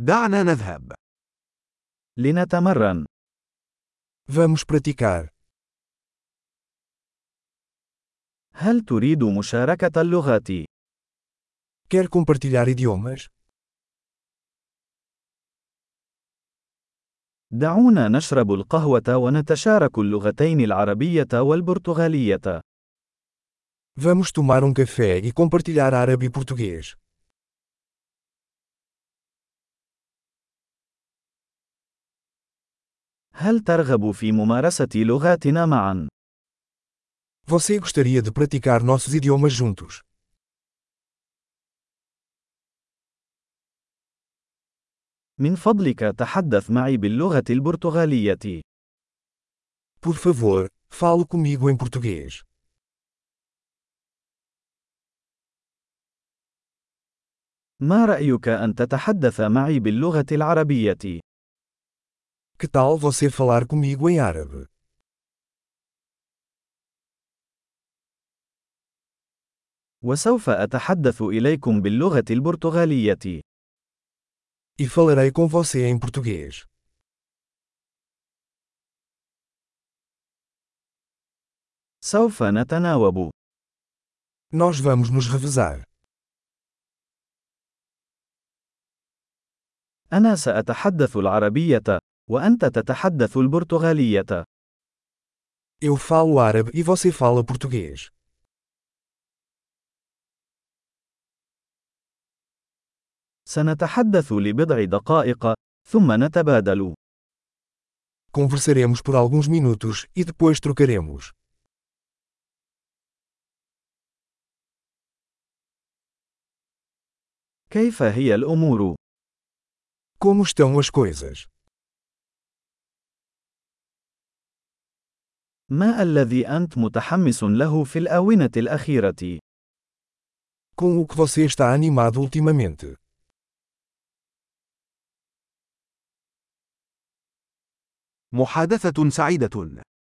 دعنا نذهب. لنتمرن. Vamos praticar. هل تريد مشاركة اللغات؟ Quer compartilhar idiomas? دعونا نشرب القهوة ونتشارك اللغتين العربية والبرتغالية. Vamos tomar café e compartilhar árabe e português. هل ترغب في ممارسة لغاتنا معا؟ Você gostaria de praticar nossos idiomas juntos? من فضلك تحدث معي باللغة البرتغالية. Por favor, fale comigo em português. ما رأيك أن تتحدث معي باللغة العربية؟ Que tal você falar comigo em árabe? وسوف أتحدث إليكم باللغة البرتغالية. E falarei com você em português. سوف نتناوب. Nós vamos nos revezar. أنا سأتحدث العربية، وأنت تتحدث البرتغالية. Eu falo árabe e você fala português. سنتحدث لبضع دقائق، ثم نتبادل. Conversaremos por alguns minutos e depois trocaremos. كيف هي الأمور؟ Como estão as coisas? ما الذي أنت متحمس له في الآونة الأخيرة؟ Com o que você está animado ultimamente? محادثة سعيدة.